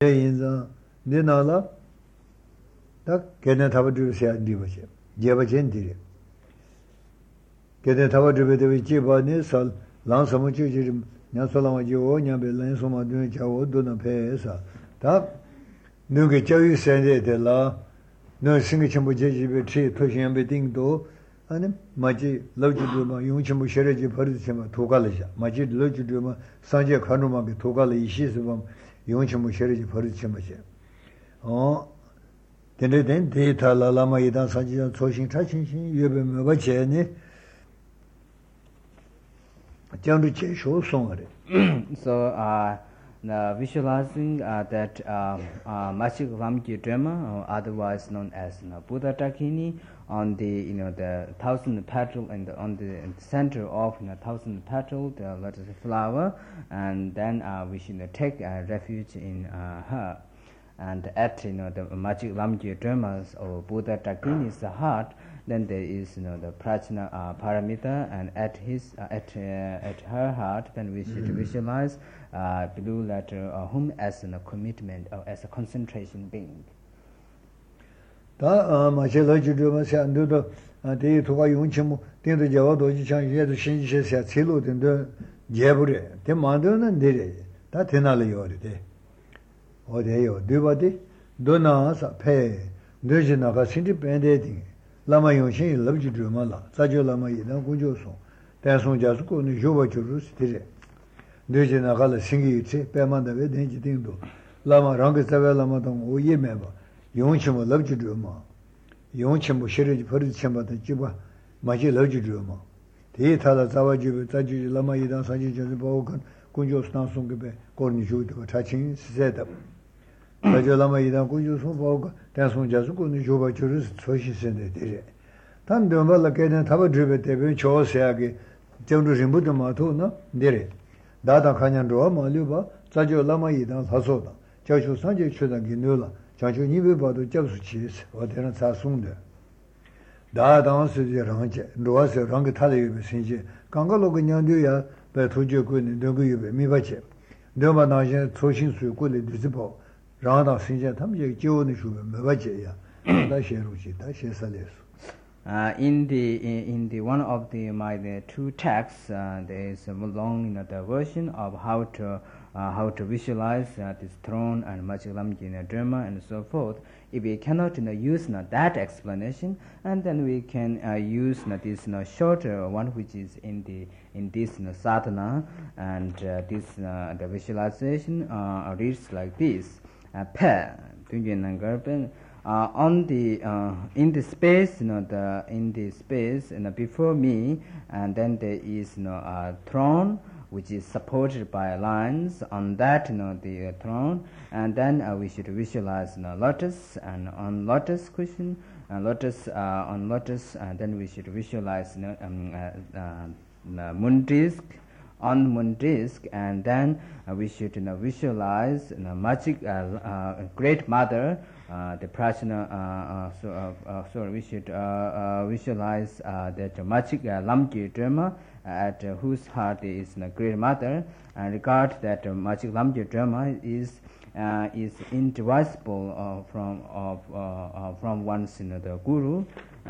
인자 내나라 딱 걔네 잡아주셔야 되지. 제바젠들이 걔네 잡아주게 되면 집안에서 랑섬을 주지 냐솔랑아지오 냐벨란소마도 자오도나 배에서 다 너게教育 세대들라 너 생기 전부 제집에 치 표시한배 딩도 아니 마지 러지도마 용침부 셔레지 버리지마 도갈이자 마지 러지도마 산제 관로마게 도갈이 이시스범 용침부 셔레지 버리지마지 데네덴 데이터라라마 이단 산지자 초신 차신신 예배 뭐바제니 장르 제쇼 송아래 So now visualizing that Machik Ramji Drama, or otherwise known as Buddha Dakini, on the the 1,000 petal and on the center of 1,000 petal the lotus flower, and then we should take refuge in her, and at the Machik Ramji Dramas or Buddha Dakini's heart. Then there is the Prajna Paramita, and at her heart, then we should visualize blue letter whom as a commitment or as a concentration being. 다 마실러지도마서 안도도 대이 도가 용침무 된도 자와도 지창예도 신지세사 제로 된도 제부래 대 만도는 내래 다 되나려 요리대 어디에요 뒤바디 도나서 폐 뇌지나가 신지 밴데딩 라마 용신 럽지도마라 자조 라마 이단 고조소 대송자스고는 요바주르스티레 뇌지나가라 신기치 빼만다베 된지딩도 라마 랑게사베 라마동 오예메바 용침을 럽지도마 용침부 시리즈 버리침바다 지바 마지 럽지도마 대타다 자와지베 자지 라마 이단 사지저스 보고 군조스나송게베 고르니주도 차친 시세다 자절라마 이단 군조소 보고 대송자스고는 요바주르스 초시선데 되래 단도말라 깨는 타버드베 대베 조세하게 정도심부터 마토나 되래 다다 칸년도 말려봐 자절라마 이단 사소다 저주 산제 추다기 늘라 자주 니베 봐도 접수치스 어디는 사송데 다당스지 랑제 로아세 랑게 탈레베 신지 강가로 그냥도야 배 도저군이 너구유베 미바체 너마나제 초신수 꿀이 뒤집어 라다 신제 탐제 지원의 수베 미바체야 다 셰루지 다 셰살레스 in the one of the two texts there is a long the version of how to visualize this throne and Machilamji Dharma and so forth. If we cannot use that explanation, and then we can use this shorter one which is in this sadhana, and this the visualization reads like this: on the in the space, in the space, before me, and then there is a throne which is supported by lions. On that, the throne, and then we should visualize lotus, and on lotus cushion, lotus on lotus, and then we should visualize moon disk. On moon disk, and then we should visualize magic great mother, the Prajna. So we should visualize that magic Lamji Dharma, at whose heart is great mother, and regard that magic Lamji Dharma is indivisible from one's the guru,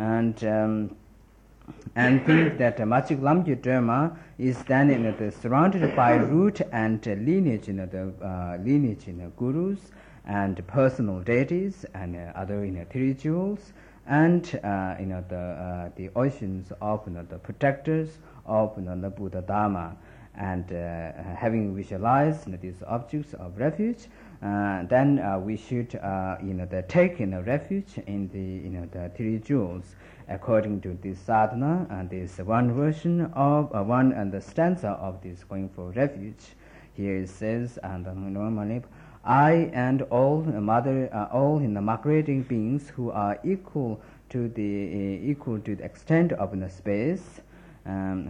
and think that Machik Lamji Dharma is then surrounded by root and lineage, lineage gurus and personal deities and other three jewels, and the oceans of the protectors of the Buddha Dharma, and having visualized these objects of refuge, then we should take refuge in the three jewels. According to this sadhana, and this one version of one and the stanza of this going for refuge. Here it says, and I and all mother, all migrating beings who are equal to the extent of the space, and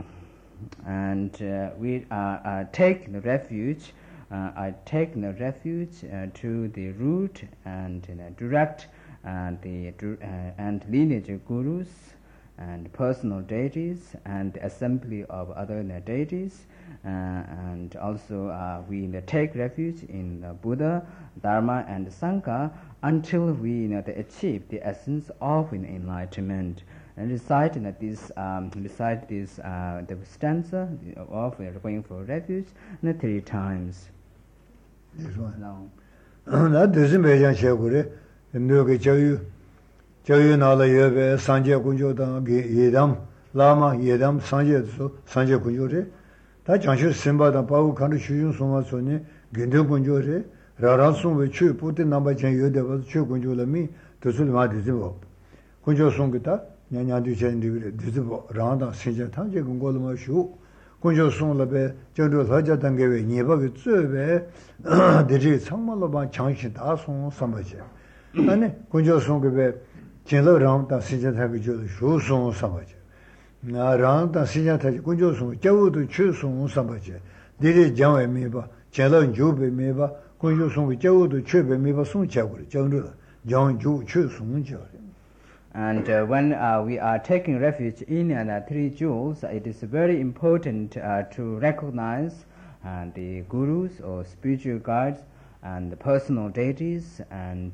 we take the refuge. I take the refuge to the root and direct and lineage gurus, and personal deities and assembly of other deities, and also we take refuge in Buddha, Dharma, and Sangha until we achieve the essence of enlightenment. And recite this the stanza of going for refuge 3 times. This one. No. That doesn't make sense. No, Jayu Nala Yebe, Sanja Kunjo, Yedam, Lama, Yedam, Sanja Kunjore. That Janshu Simba, the Pau Kandu Shuyun Soma Sony, Gindu Kunjore, Rarasun with Chu, put the number Chen Yoda was Chu Kunjula me to Sulma Dizibo. Kunjo Songita, Nyan Duchen Dizibo, Randa, Sinja Tanja Kungolma Shu, Kunjo Song Labe, Jandu Haja Tangawe, Niba with Zube, Diri Samalaban Changshin Tasong Sambache. And Kunjo Songbe. Chenlo Ram ta Sinja Taki Jodo Shu Song Sambache. Ram ta Sinja Taki Kunjo Song, Jawu to Chu Song Sambache. Dili Jangwe Meba, Chenlo Jube Meba, Kunjo Song, Jawu to Chube Meba Song Chaguri, Jangru, Jang Ju Chu Song Jari. And when we are taking refuge in 3 jewels, it is very important to recognize the gurus or spiritual guides and the personal deities and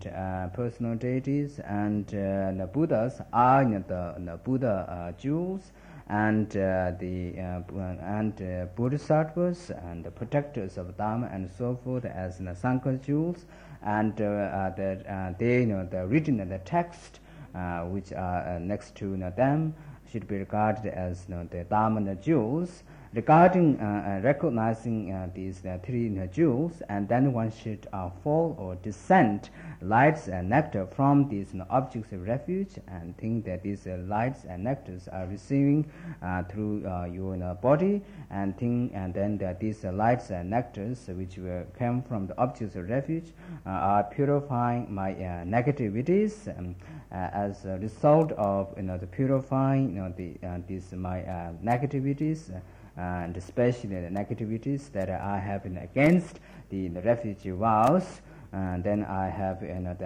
the Buddhas are the Buddha jewels, and the Bodhisattvas and the protectors of Dharma and so forth as the Sangha jewels, and the written the text which are next to them should be regarded as the Dharma jewels. Regarding recognizing these 3 jewels, and then one should fall or descend lights and nectar from these objects of refuge, and think that these lights and nectars are receiving through your body, and then that these lights and nectars which came from the objects of refuge are purifying my negativities, as a result of the purifying these my negativities. And especially the negativities that I have against the refugee vows, and then I have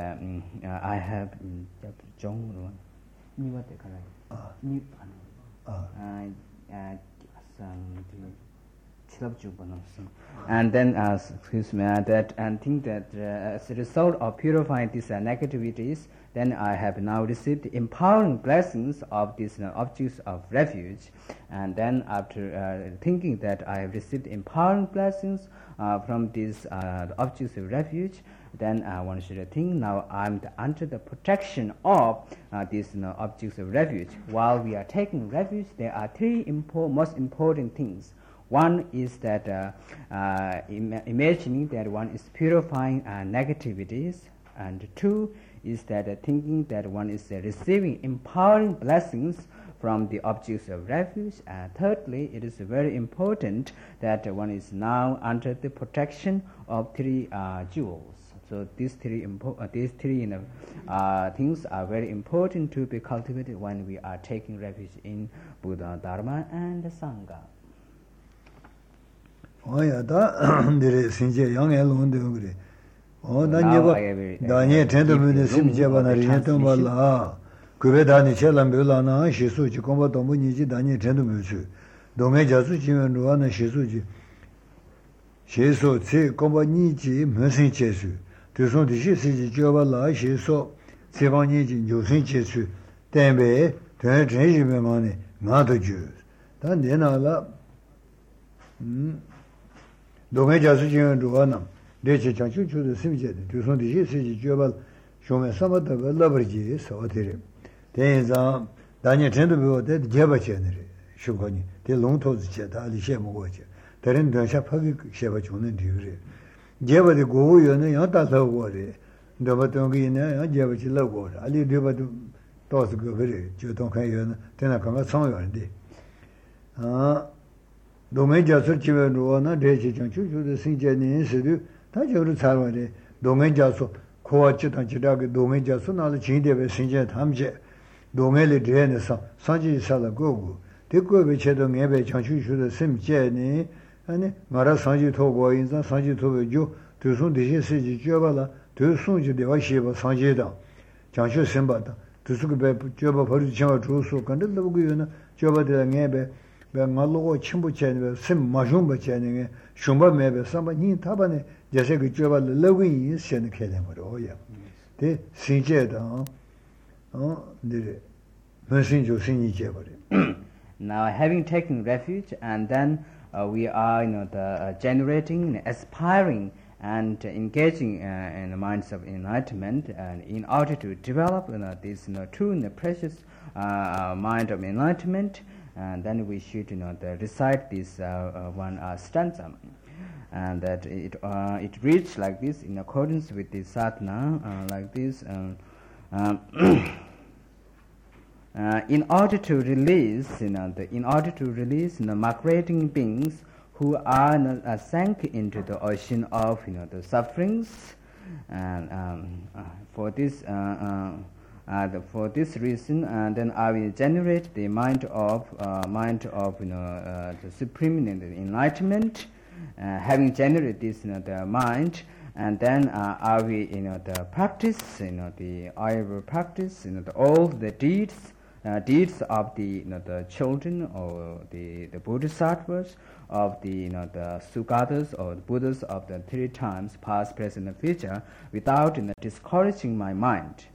and then excuse me that, and think that as a result of purifying these negativities, then I have now received empowering blessings of these objects of refuge. And then after thinking that I have received empowering blessings from these objects of refuge, then one should think now I'm under the protection of these objects of refuge. While we are taking refuge, there are 3 most important things. One is that imagining that one is purifying negativities, and 2 is that thinking that one is receiving empowering blessings from the objects of refuge. And thirdly, it is very important that one is now under the protection of 3 jewels. So these three things are very important to be cultivated when we are taking refuge in Buddha, Dharma, and Sangha. Oh yeah, that there is since young alone the oh, Danye tend to be the same Javan Bala. Kubedani Chelambulana, Shisuji, Comba Domuniji, Danye tend to be Dome Jasuji and Ruana Shisuji. Shiso, Tse, Comba Niji, Mersin Chesu. To some the Shisi Javala, Shiso, Sevaniji, Josin Chesu, Tembe, to have change money, not the Jews. Then Allah. Dome Jasuji and Ruana. Deci Chanchu to the Simjet, to some the Shisi Jabal, Shome Samata, Labraji, so there. Then Daniel tend to be dead Jabachenry, Shukoni, the long toes chet, Ali Shemowacher. Then Shapagi Shabachun and Dure. Java the go, you know, not a worry. The Batongina, Javachi love water. Ali Duba to toss go very, Juton, then I come at somewhere. Domeja Suchivan Ruana, Deci Chanchu to the Sinjani Institute. Tajo Salvade, Domejaso, Coachit and Chidaki, Domejaso, now the Chinde, Sinja Hamje, Domeli Drenesa, Sanji Salagogu, Tico which had on Ebe Chanchu to the same Jenny, and Mara Sanji Togo in the Sanji Togo, to soon the Siji Javala, to soon the Washiva Sanjida, Chanchu Simbata, 두수고 배 저바 버리 지마 주소 근데 너구이나 저바들 녜베 배말로 침부체네 심 마숑바체네 shum바메베 삼바니 타바네 제세 그 저바 러구이 신의 개념으로야 대 신제다 네 무슨조 신이제 버리 Now, having taken refuge, and then we are, generating, aspiring, and engaging in the minds of enlightenment, and in order to develop this true precious mind of enlightenment, and then we should recite this one stanza, and that it reads like this in accordance with the sadhana, like this. In order to release, the migrating beings who are sank into the ocean of, the sufferings, and for this reason, then I will generate the mind of, the supreme enlightenment. Having generated this, the mind, and then I will, the practice, I will practice, all the deeds of the children or the bodhisattvas, of the Sugatas or the Buddhas of the 3 times, past, present, and future, without discouraging my mind.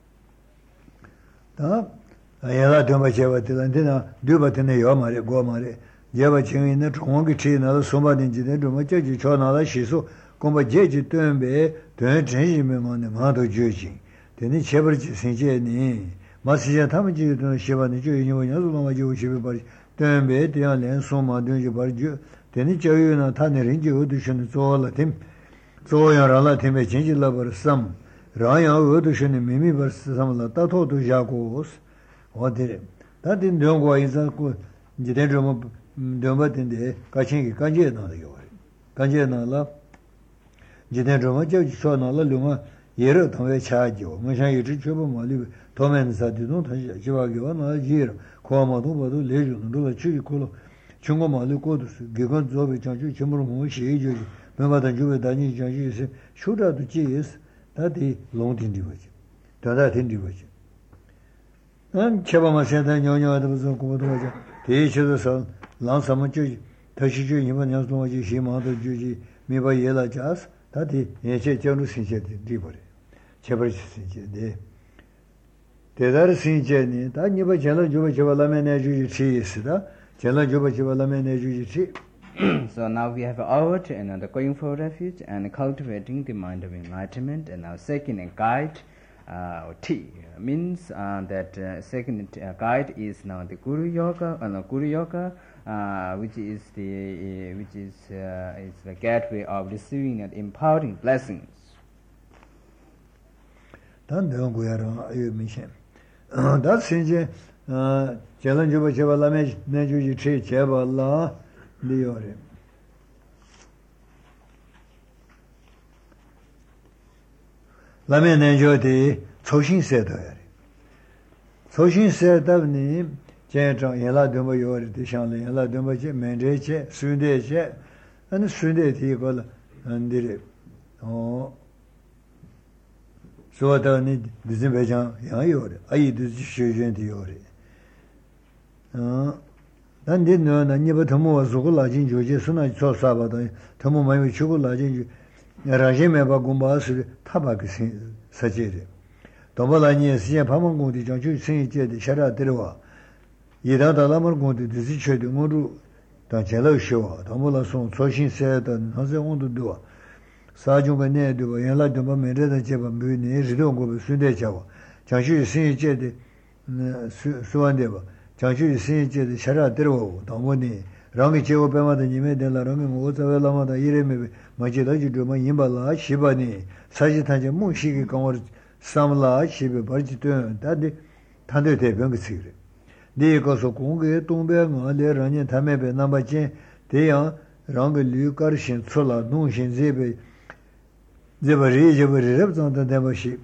ayala dhamma cheva tilandina dhubha tina yomare gomare jeva chingi na chongi chi na sumba dinji na dhuma chaji cho na la shiso gomba jeji tuanbe tuan chenji me ma ne ma do juji teni chebar chi sinche ni ma siya tama chi tuna shiva ni juji nyo nyazu loma jivu shivi bari tuanbe tiyan len summa dunji bari ju teni chayu na tani rinji udu shuni zoho la tim zoho yang rala timbe chenji la bari sam rāyā wādu shūni mīmī par samla tato tu jākos wādhiri tāti ndiyōngwa īsā ku jitēn rōma ndiyōngba tīndi kāchīngi kāñjē nāla yōgari kāñjē nāla jitēn rōma chāw chō nāla lūma yērā tāngwē chā jīwa māshā yīchī chōpa māli tōmēn sāti tōng tāshī jīwā gīwa nāla jīra kuwa mā tōng bādu lē chū nōla chūki kōla chūngwa māli kōdu sū gīgān dzōbi chāngchū chīmuru mō shī jōji mēngā tāng chūbi dāñi chāngchū yīsī shūrā tu jī yīsī 다디 롱딘디 버지 다다 딘디 버지 난 쳐봐마 세다 녀녀도 무슨 고도 버지 대체도서 랑사만 주지 다시 주 이번 양송하지 희망도 주지 미바 예라 자스 다디 예체 전우 신세디 리버리 제버지 신세디 대다르 신세니 다 니바 전우 주바 주발라메네 주지 치스다 전우 주바 주발라메네 주지 치 So now we have out and going for refuge and cultivating the mind of enlightenment, and now second guide T means that second guide is now the Guru Yoga, which is the gateway of receiving and imparting blessings. Dan dong guyaro ayu mishen. Da sinje jalan juba juba lame ne juji chi cheba la liore. Lame ne jodi choxin se da yari. Choxin se da ni jian zhang yan dong yori de xiang le yan dong che men zhe che sun de che an sun de ti go la an dire说的你日本讲也有的，阿姨都是学院的有的，那你呢？你把他们如果拉进去，就是那做啥吧的，他们没有去过拉进去，让人们把公巴是他把个设计的，到不来你时间他们工地上就生意接的，下来的话，一旦到他们工地就是缺的，我都当前老学啊，他们那送重新设的，那是我都多。사중가 내도 연락도 뭐 매래다 제가 뭐네 리동 거 순대 잡아 장시 신이제데 수완데 봐 장시 신이제데 샤라 들어오고 너무니 랑이 제고 배마다 님에 될라 랑이 뭐 자벨라마다 이래메 마지다 주도만 임발라 시바니 사지탄제 무시기 강월 삼라 시베 버지도 다디 탄데 대변 그 시그래 네거서 공개 동배가 내라니 담에베 남바진 대양 랑이 류가르신 솔라 농신 제베 제버리 랩zon다 대버시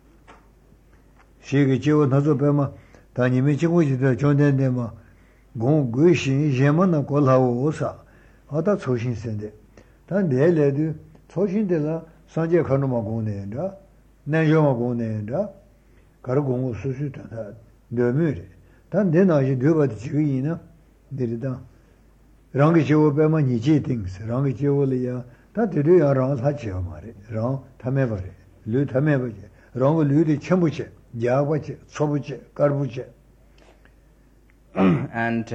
시기 지고 나서 배마 다니미 지고지도 존대데마 공구신 제만나 골하오사 하다 초신센데 단 내래도 초신데라 산제 가노마 공내다 내조마 공내다 가르공고 수수다 너무래 단 내나지 되버지 지기나 데리다 랑기 지오 빼면 니지 띵스 랑기 지오리야 다 데려야 랑 사지요 말이 랑 담해버려 류 담해버려 랑고 류디 첨부지 야과지 초부지 깔부지 and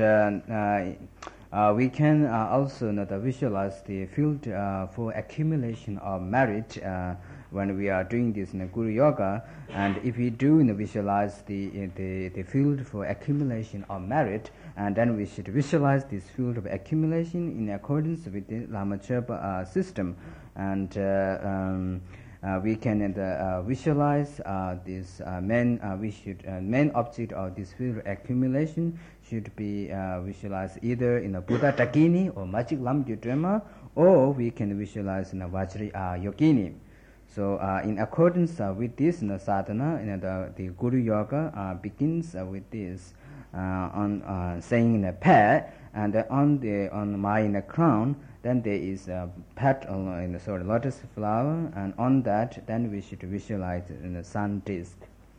we can also visualize the field for accumulation of merit when we are doing this in Guru Yoga, and if we do visualize the field for accumulation of merit, and then we should visualize this field of accumulation in accordance with the Lama Chöpa system, and we can visualize this main object of this field of accumulation should be visualized either in a Buddha Dakini or Magic Lam Yudrema, or we can visualize in a Vajra Yogini. So in accordance with this sadhana, the Guru Yoga begins with this on saying in a pair, and on my crown, then there is a petal in the sort of lotus flower, and on that, then we should visualize in the sun disk.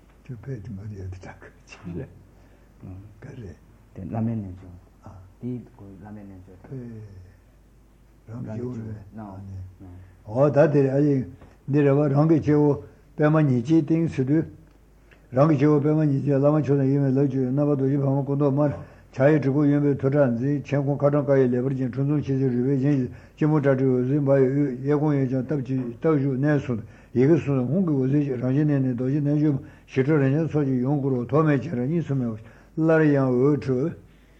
내려와 랑게 제오 배만이지 띵스도 랑게 제오 배만이지 라마초는 이메 러주 나바도 이 방어 건도 말 자유 주고 연배 도전지 전공 가정가에 레버진 전송 시제 리베진 제모자주 림바 예공예전 답지 더주 내수 이것은 홍고 오지 라진네네 도지 내주 시저人소지 용구로 도매처럼 있으면 라리양 어주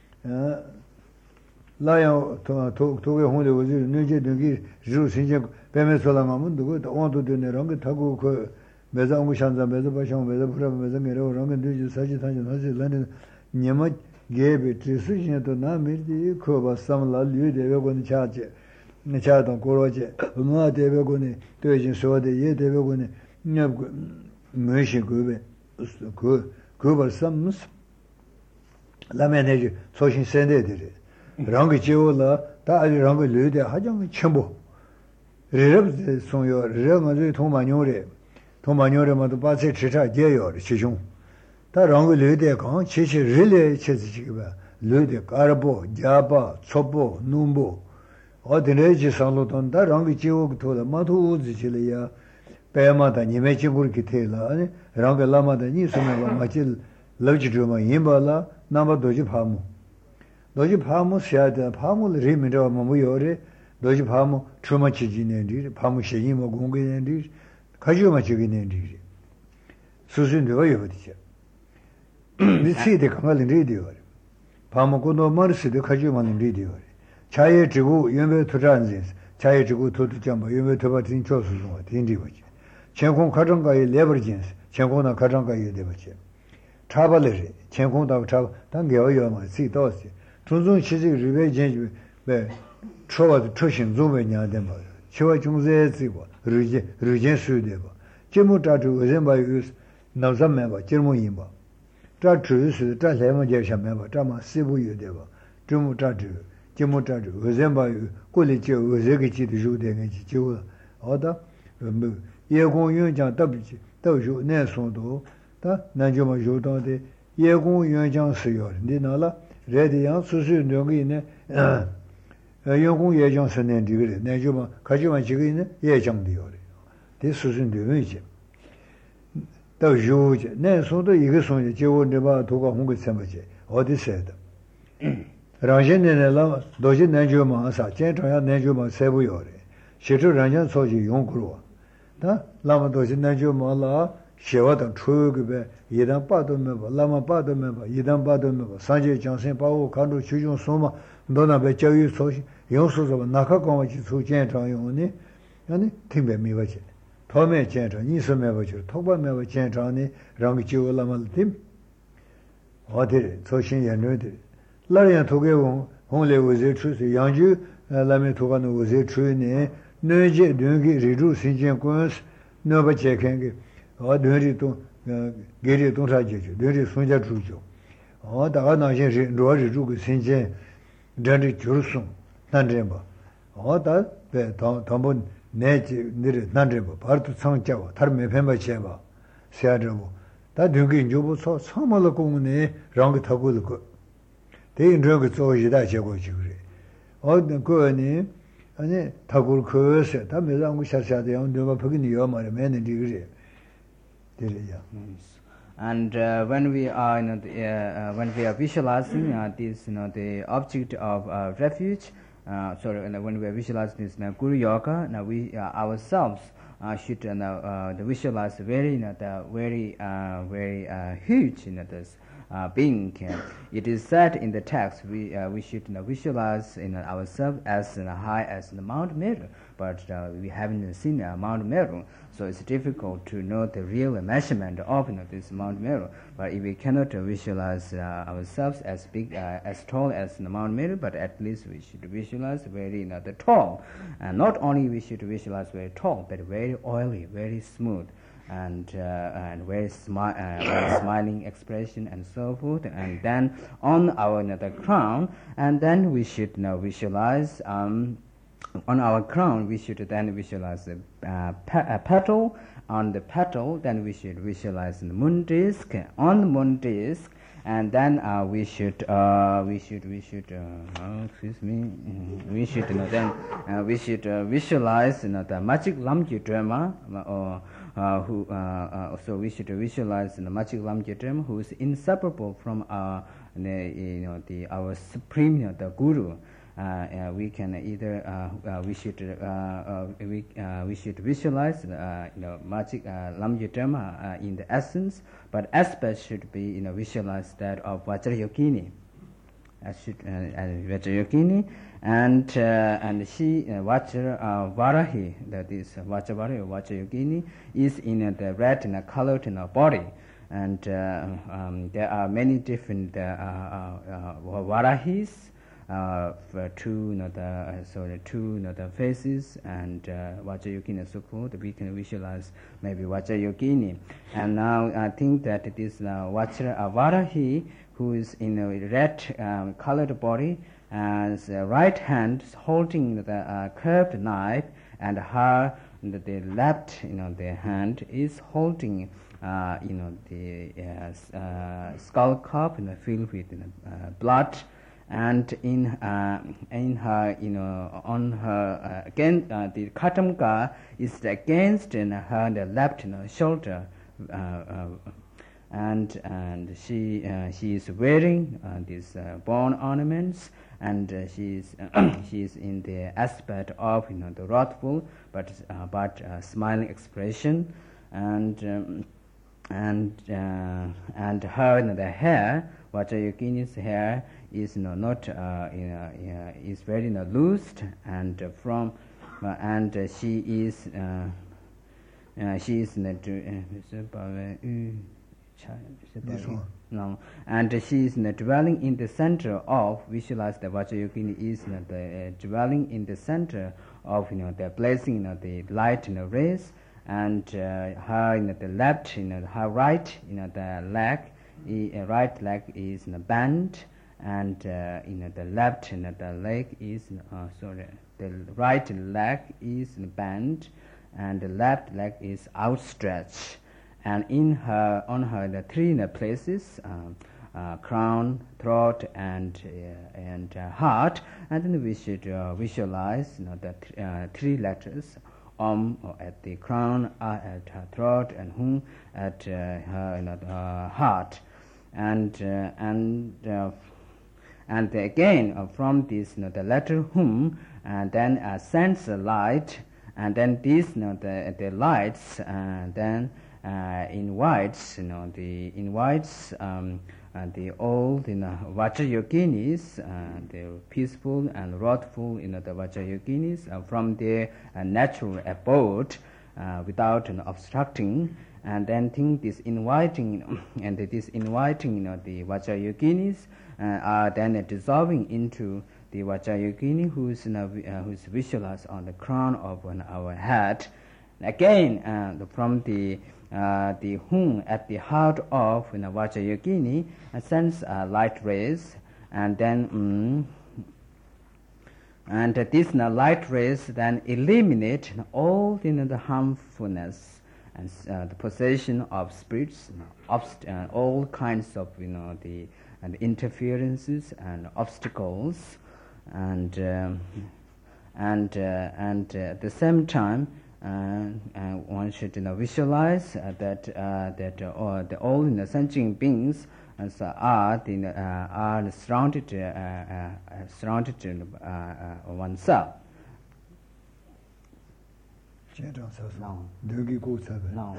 라양 도게 홍대 오지 내제 등기 주 신제 배매설랑하면 누구 온도 되네랑 그 타고 그 매장무 šan자 매자 바상 매자 프라 매자 메로랑 그 사지 사지 사지 라는 녀마 게베 트스진도 나미디 코바 삼라 류데베고니 차제 네차도 고로제 음아 데베고니 되진 소데 예 데베고니 녀 메시 그베 그 그벌 삼스 라메네지 소신 센데들이 랑게 지올라 다 랑게 류데 하정 첨부 레럽 송요 레마즈 통마뇨레 통마뇨레마도 바세 치차 제요 시중 다 랑고 르데 강 치치 릴레 치지기바 르데 까르보 자바 초보 눈보 어디네지 상로던 다 랑고 지오고 토다 마도 우지실이야 배마다 님의 지구를 기태라 아니 랑고 라마다 니스메가 마칠 러지드마 임발라 나마도지 파무 도지 파무 샤다 파무를 리미로 뭐요레 도지 파무 추마치지네디 파무 셰이모 공게네디 가지마치기네디 수준도 어디죠 미치데 강할 리디오 파무고노 머스데 가지마는 리디오 차에 지구 연배 투자한지 차에 지구 도두점바 연배 도바진 조수중 딘디버지 전공 가정가의 레버진스 전공나 가정가의 레버지 차발레 전공다고 차 당겨요마 시도시 존존 시지 리베진지 네 초와 초신 조베냐데 뭐 초와 중세 지고 르제 수되고 제모자주 의전바유 나자메바 제모임바 자 주스 자 레모제샤메바 자마 시부유되고 제모자주 의전바유 꼴리제 의제기지도 주되는지 지고 어다 뭐 예공연장 답지 더주 내송도 다 난조마 조도데 예공연장 쓰요 니나라 레디양 수수능이네 연공 예정 선행 되게 내주마 가지마 지고 있는 예정되요. 대 수준되는지. 또 요제 내 손도 이거 손이 제원데 봐 도가 홍고 sembaje. 어디서다. 라젠네라 도지 내주마 아사 제정야 내주마 세부요래. 실제 란전 소지 용구로. 다 라마 도지 내주마라 쉐와던 추급에 이단 빠도면 라마 빠도면 이단 빠도면 산제 장생 바오 간도 주중 소마 너나베教育 소시 용수서 나카고마치 수전장용니 아니 팀베미바지 도매 전장 니스메바지 토바메바 전장니 랑기 지올라말팀 어디 소신 연료들 라리안 토게고 홍레고제 추스 양주 라메 토가노 고제 추네 너제 등기 리루 신전권스 너바체켄게 어드리 또 게리 동사제죠 너리 손자 주죠 다가 나신 로리 주고 신전 저리 줄숨 난제바 어다 배 담본 내지 니르 난제바 바르도 상자와 다른 매편바 제바 세아르고 다 등기 조부 소말로 공네 랑 타고도 그 대인 저거 조지다 제고지 그래 어떤 거니 아니 타고 그서 다 매장고 샤샤데 내가 거기니요 말에 매는 그래 되려야 And when we are when we are visualizing this the object of refuge when we are visualizing this Guru Yoga, now we ourselves should visualize very very huge this being. It is said in the text we should visualize ourselves as high as the Mount Meru, but we haven't seen Mount Meru, so it's difficult to know the real measurement of this Mount Meru. But if we cannot visualize ourselves as big as tall as the Mount Meru, but at least we should visualize very the tall, and not only we should visualize very tall, but very oily, very smooth, and very smiling expression and so forth. And then on our the crown, and then we should now visualize on our crown we should then visualize a petal. On the petal, then we should visualize the moon disk. On the moon disk, and then we should visualize the magic Lamgyu Drama, so we should visualize the magic Lamgyu Drama, who is inseparable from our our supreme the Guru. We can either we should visualize magic Lamgyu Dharma in the essence, but aspect should be visualize that of Vajrayogini. Vajrayogini, and she Varahi, that is Vajrayogini, is in the red colored body. And there are many different Varahis. Two the faces, and Vajrayogini so called. We can visualize maybe Vajrayogini. And now I think that this Varahi, who is in a red colored body, and right hand holding the curved knife, and her the left the hand is holding the skull cup filled with blood. And in her, on her again, the Katamka is against her the left shoulder, and she is wearing these bone ornaments, and she is in the aspect of the wrathful but smiling expression, and her the hair, Vajrayogini's hair, is not is very loose, and from and she is no, and she is dwelling in the center of, visualize the Vajrayogini is dwelling in the center of the blessing the light rays, and her the left her right the leg, right leg is bent, and the left the leg is the right leg is bent, and the left leg is outstretched, and on her the three places, crown, throat, and heart, and then we should visualize the three letters, at the crown, at her throat, and hum at her heart, and again from this the letter hum, and then sends a light, and then this the lights then invites the old Vajrayoginis, the peaceful and wrathful the Vajrayoginis from their natural abode without obstructing, and then think this inviting and this inviting the Vajrayoginis are then dissolving into the Vajrayogini who's visualized on the crown of our head. Again, from the hum at the heart of Vajrayogini sends light rays, and then and these light rays then eliminate all the harmfulness and the possession of spirits, all kinds of the interferences and obstacles, and at the same time one should visualize that all sentient beings are surrounded oneself. No. No.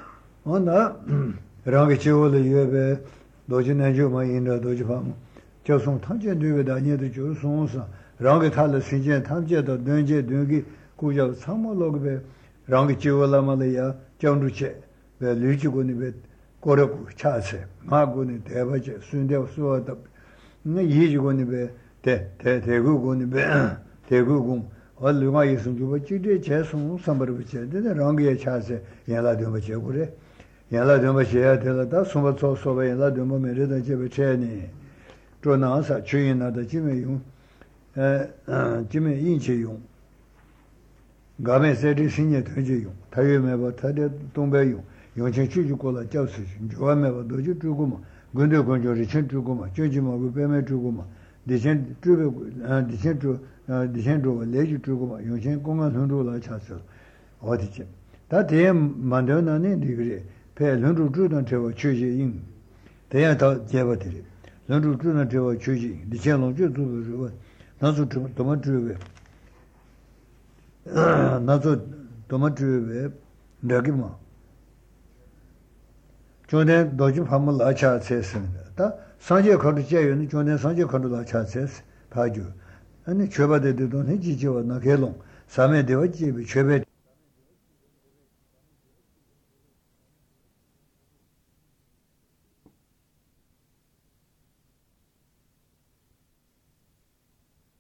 Rangi Chivoli Yube, Dojin Juma in the Dojipam, Josung Tanjan Duda near the Josonsa, Rangi Tala Sinjan, Tanja, the Dunje, Dungi, Kuja, Samologbe, Rangi Chivola Malaya, John Duce, the Luchiguni, Koroku, Chase, Maguni, Tevache, Sunday Suat, Yijiguni, Teguguni, Tegugum. All the ways in Jubachi, Chesum, somebody which said, the Rangi Chase, Yala Dumache, Yala Dumache, Telata, somewhat so Yala Duma Merida Jebacheni, Tronasa, China, the Jimmy Inchi Yung. Game said, Senior Tujum, Tayumeva, Tadia Tumbayum, Yonchi Chukola, Joseph, Joameva, Doju Truguma, Gundo Conjo, Truguma, Jujima, Beme Truguma, Decentro, Lady Truguma, Yonshin Konga Hundula Chassel, what is it? That day, Mandana degree, pay Lundu Judan Trevor Chuji in. They are taught Javatiri. Lundu Judan Trevor Chuji, the channel Judu, not so tomatru, not so tomatru, Dagima. Jordan Dojim Hamal Acha says, Sanja Kodaja, and Jordan Sanja Kodula says, Paju. And the Cheba de Don Hijijo, Nakelon, Same de Oji, Chebe.